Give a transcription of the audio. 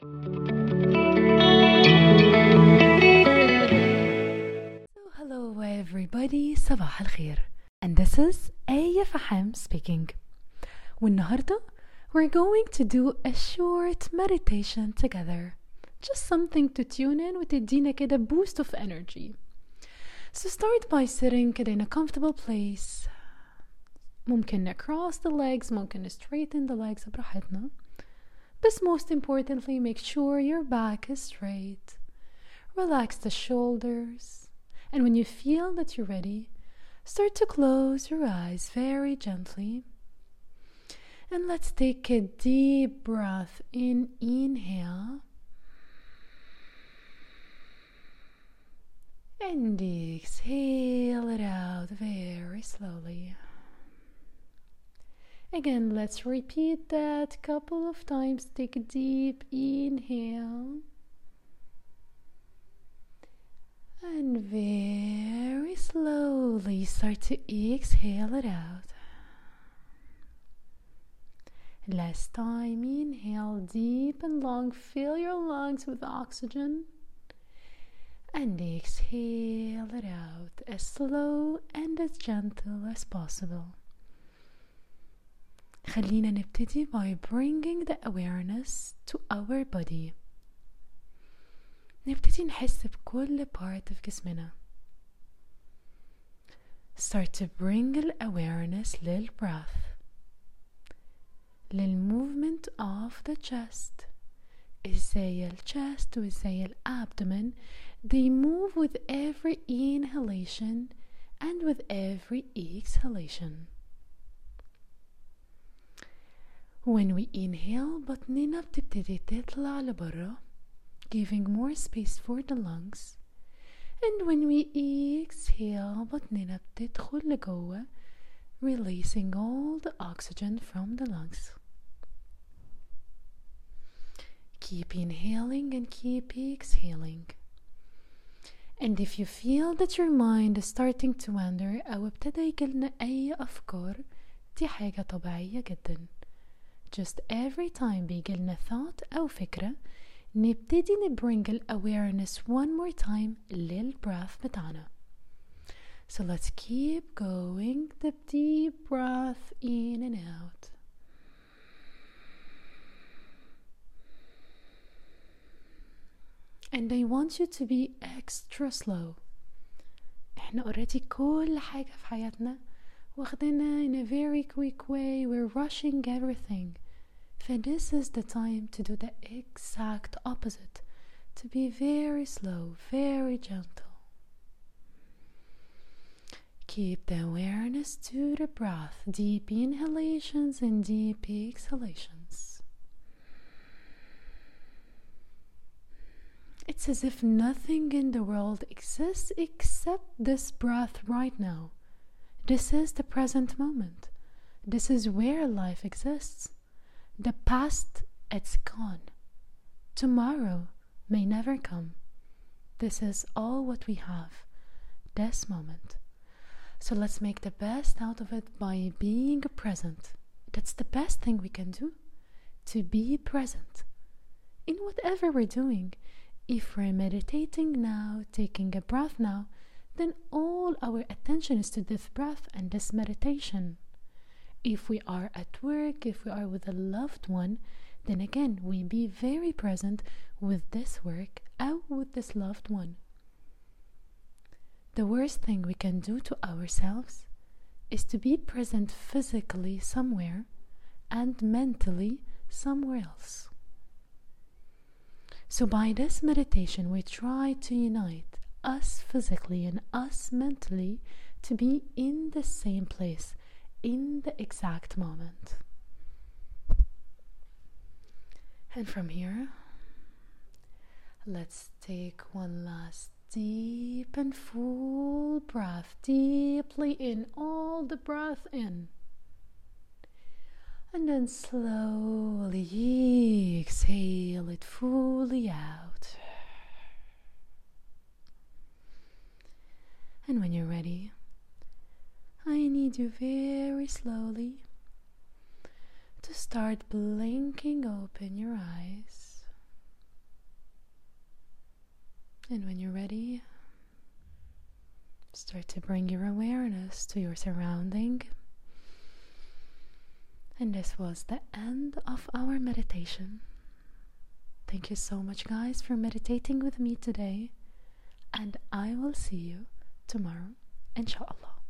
Hello everybody, صباح الخير. And this is Aya Faham speaking. والنهاردة we're going to do a short meditation together. Just something to tune in وتدينا كده boost of energy. So start by sitting كده in a comfortable place. ممكن cross the legs, ممكن straighten the legs براحتنا. But most importantly, make sure your back is straight. Relax the shoulders. And when you feel that you're ready, start to close your eyes very gently. And let's take a deep breath in. Inhale. And exhale it out very slowly. Again, let's repeat that a couple of times. Take a deep inhale. And very slowly start to exhale it out. Last time, inhale deep and long. Fill your lungs with oxygen. And exhale it out as slow and as gentle as possible. خلينا نبتدي by bringing the awareness to our body. نبتدي نحس بكل part في جسمنا. Start to bring awareness للبreath, للmovement of the chest. ازاي chest وازاي abdomen, they move with every inhalation and with every exhalation. When we inhale, بطننا بتبتدي تطلع لبرا, giving more space for the lungs. And when we exhale, بطننا بتدخل لجوه, releasing all the oxygen from the lungs. Keep inhaling and keep exhaling. And if you feel that your mind is starting to wander أو ابتدى يجيلنا أي أفكار, دي حاجة طبيعية جدا. Just every time بيجيلنا thought أو فكرة, نبتدي نبring awareness one more time للبreath بتاعنا. So let's keep going. The deep breath in and out. And I want you to be extra slow. احنا already كل حاجة في حياتنا واخدنا in a very quick way. We're rushing everything. So this is the time to do the exact opposite. To be very slow, very gentle. Keep the awareness to the breath. Deep inhalations and deep exhalations. It's as if nothing in the world exists except this breath right now. This is the present moment. This is where life exists. The past, it's gone. Tomorrow may never come. This is all what we have, this moment. So let's make the best out of it by being present. That's the best thing we can do, to be present in whatever we're doing. If we're meditating now, taking a breath now, then all our attention is to this breath and this meditation. If we are at work, if we are with a loved one, then again we be very present with this work or with this loved one. The worst thing we can do to ourselves is to be present physically somewhere and mentally somewhere else. So by this meditation, we try to unite us physically and us mentally to be in the same place, in the exact moment. And from here, let's take one last deep and full breath, deeply in, all the breath in. And then slowly exhale it fully out. And when you're ready, I need you very slowly to start blinking open your eyes. And when you're ready, start to bring your awareness to your surrounding. And this was the end of our meditation. Thank you so much, guys, for meditating with me today. And I will see you tomorrow, inshallah.